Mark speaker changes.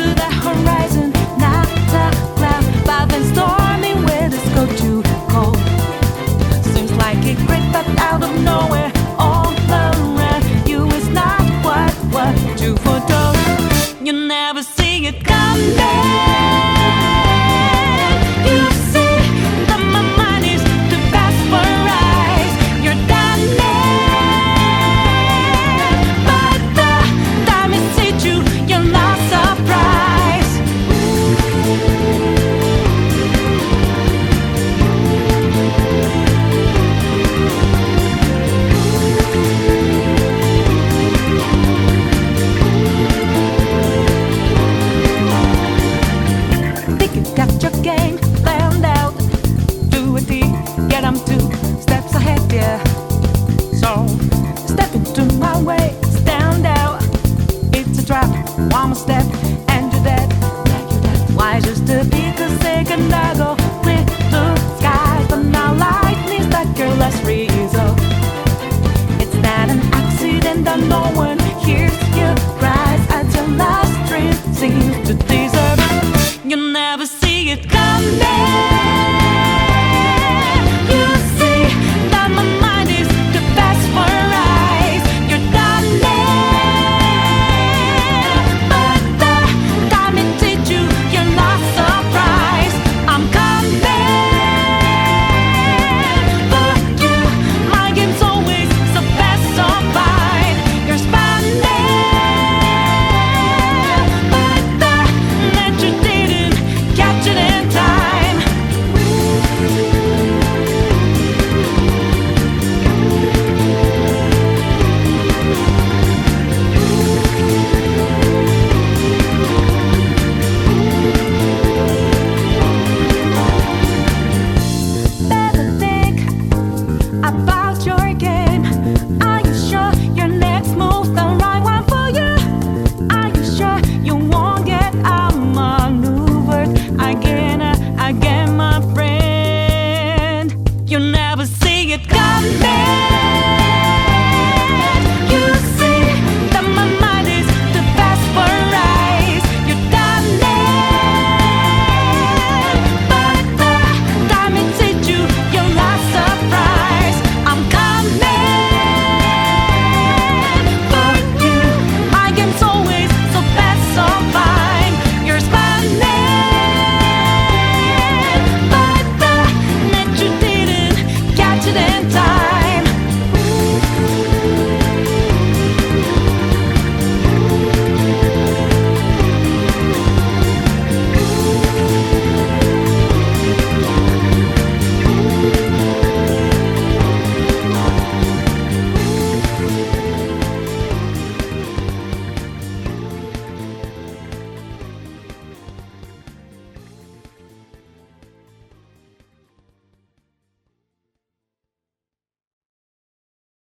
Speaker 1: the horizon, not a cloud. But then stormy weather's go too cold. Seems like it crept up out of nowhere. All around you is not what you foretold. You never see it coming. You see that my mind is too fast for eyes. You're done, but the time it hit you, you're not surprised. Think you got your game planned out. Do a deed, get 'em 2 steps ahead, yeah. So step into my way, stand out. It's a trap, one more step.